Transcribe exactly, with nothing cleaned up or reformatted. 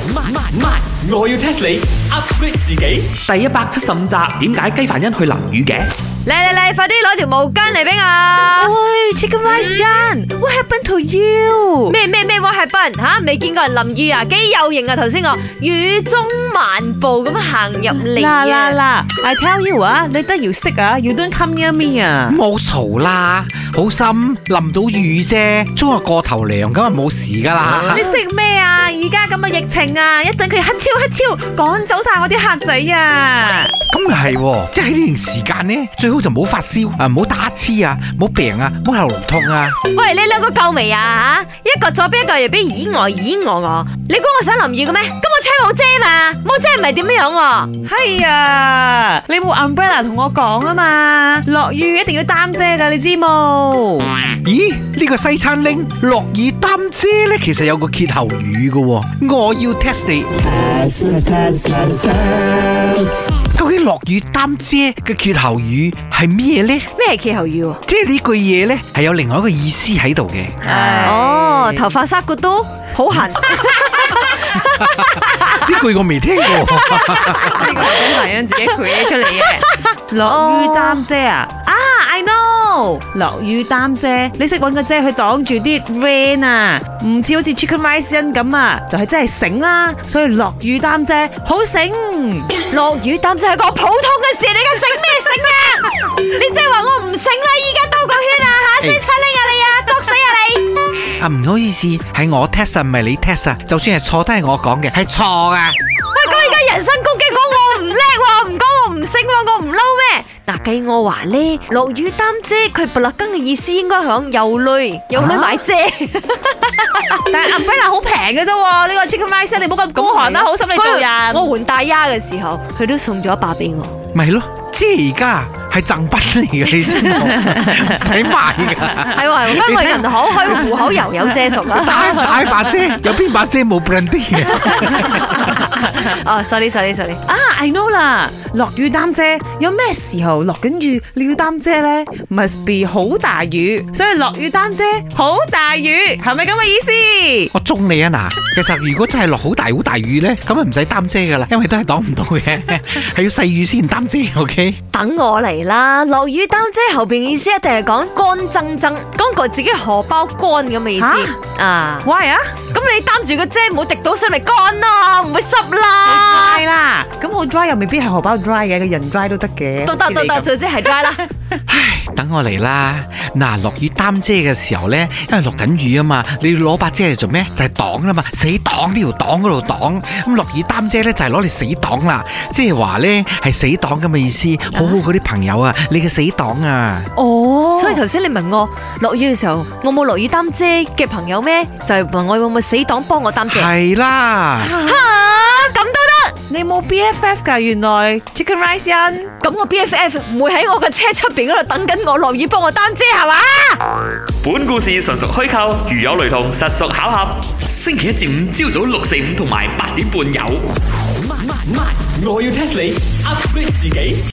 慢慢慢，我要 test 你 upgrade 自己。第一百七十五集，點解雞凡欣去淋雨嘅？ 嚟嚟嚟，快啲攞條毛巾嚟俾我。 喂 ，Chicken Rice Jan，what happened to you？ 咩咩咩 what happened？吓，未見過人淋雨啊？幾有型啊！頭先我雨中漫步咁行入嚟嗱嗱啊！ 嗱 ，I tell you 啊，你都要識啊 ，you don't come near me 啊。 冇嘈啦，好心淋到雨啫，沖個過頭涼咁啊冇事噶啦。 你識咩啊？而家咁嘅疫情啊，一陣佢乞超乞超趕走晒我啲客仔啊！ 咁又係，即係喺呢段時間呢，最好就唔好發燒啊，唔好打乞嗤啊，唔好病啊，唔好喉嚨痛啊。 喂，你兩個夠未啊？吓，一個左邊一個右邊，咦我咦我我，你估我想淋雨嘅咩？咁我車冇遮嘛，冇遮唔係點樣樣？ 係啊，你冇 umbrella 同我講啊嘛，落雨一定要擔遮噶，你知冇？ 咦？呢個西餐拎落雨擔遮咧，其實有個歇後語嘅，我要 test 你。究竟落雨擔遮嘅歇後語係咩咧？ 咩係歇後語？ 即係呢句嘢咧，係有另外一個意思喺度嘅。 哦，頭髮沙骨都好痕。呢句我未聽過。 呢個係俾人自己 create 出嚟嘅。落雨擔遮啊！啊 ，I know，落雨擔遮，你識搵個遮去擋住啲 rain 啊，唔似好似 Chicken Rice 咁啊，就係真係醒啦。所以落雨擔遮好醒。 落雨擔遮係個普通嘅事，你而家醒咩醒啊？你即係話我唔醒啦？依家兜個圈啊吓，西餐拎啊你啊，篤死啊你！ 啊，唔好意思，係我 test 啊，唔係你 test 啊。就算係錯都係我講嘅，係錯噶。 喂，咁而家人身攻擊，講我唔叻喎，唔講我唔醒喎，我唔撈咩？嗱，計我話咧，落雨擔遮，佢布勒根嘅意思應該響有女有女買遮。 但係 umbrella 好平嘅啫，呢個 Chicken Rice 你唔好咁孤寒啦，好心你做人。 我換大丫嘅時候，佢都送咗一把俾我。 咪咯，即係而家係贈品嚟嘅，你知冇？唔使買噶。 係喎，因為銀行開個戶口又有遮屬啊。 大大把遮，有邊把遮冇 branding 嘅？ 哦，sorry sorry sorry。 啊 ，I know 啦，落雨擔遮，有咩時候落緊雨你要擔遮咧 ？Must be 好大雨，所以落雨擔遮好大雨，係咪咁嘅意思？ 我中你啊嗱！其實如果真係落好大好大雨咧，咁啊唔使擔遮噶啦，因為都係擋唔到嘅，係要細雨先擔遮。OK， 等我嚟啦！落雨擔遮後邊意思一定係講乾爭爭，講個自己荷包乾咁嘅意思啊。 Why 啊？ 咁你擔住個遮唔好滴到上嚟乾啦，唔會濕啦。 係啦，咁好 dry 又未必係荷包 dry 嘅，個人 dry 都得嘅。 都得都得，總之係 dry 啦。 唉，等我嚟啦！嗱，落雨擔遮嘅時候咧，因為落緊雨啊嘛，你要攞把遮嚟做咩？就係擋啦嘛，死擋呢條擋嗰度擋。咁落雨擔遮咧就係攞嚟死擋啦，即係話咧係死擋咁嘅意思。好好嗰啲朋友啊，你嘅死擋啊！ 哦，所以頭先你問我落雨嘅時候，我冇落雨擔遮嘅朋友咩？就係問我會唔會死擋幫我擔遮？ 係啦。 吓，咁都得？ 你冇 B F F 噶？原來 Chicken Rice 人， 咁我 B F F 唔會喺我嘅車出邊嗰度等緊我落雨幫我擔遮係嘛？ 本故事純屬虛構，如有雷同，實屬巧合。星期一至五朝早六四五同埋八點半有。慢慢慢，我要 test 你 upgrade 自己。